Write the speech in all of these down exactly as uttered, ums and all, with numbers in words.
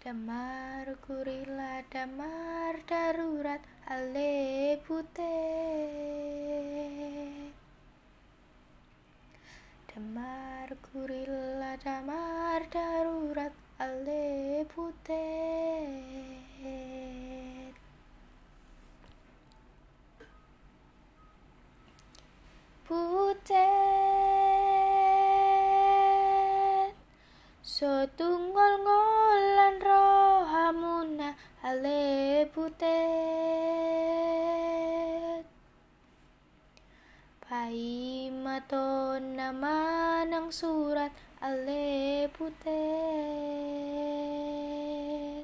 Damar gorila, damar darurat, ale butet. Damar gorila, damar darurat, ale butet. Butet sotungol ngolan rohamuna ale butet. Pai maton nama nang surat ale butet.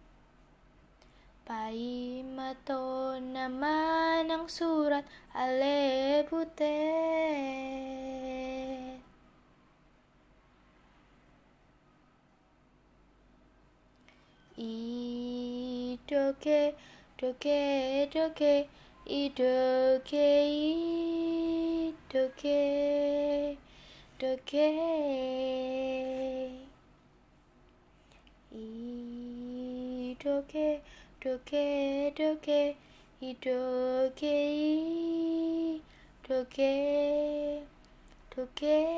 Pai maton nama nang surat ale butet. Idoke doke doke idoke idoke doke idoke doke doke idoke doke doke.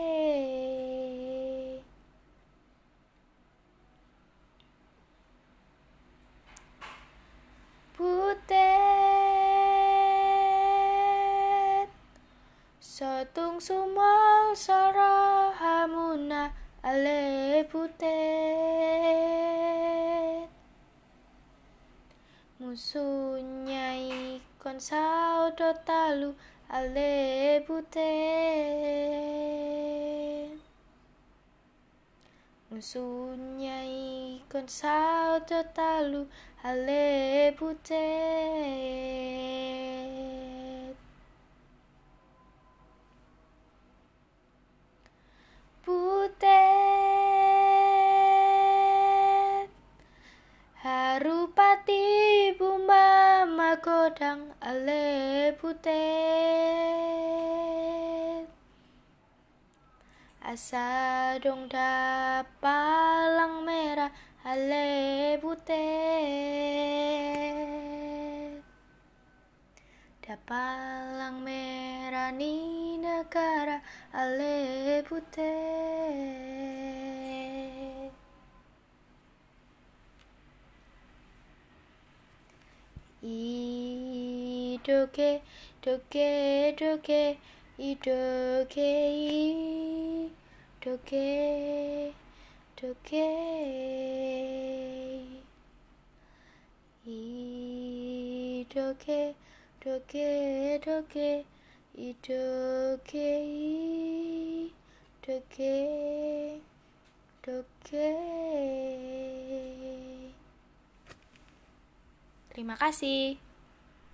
Butet sotung sumol sarahamuna ale butet. Musuhnya ikon saudo talu ale butet. Musuhnya ikon saudo talu ale butet. Butet harupati buma magodang ale butet. Asa dong dapalang merah ale butet. Dapalang merah ni negara ale butet. Idoke doke doke idoke doke doke idoke doke doke idoke doke doke. Terima kasih.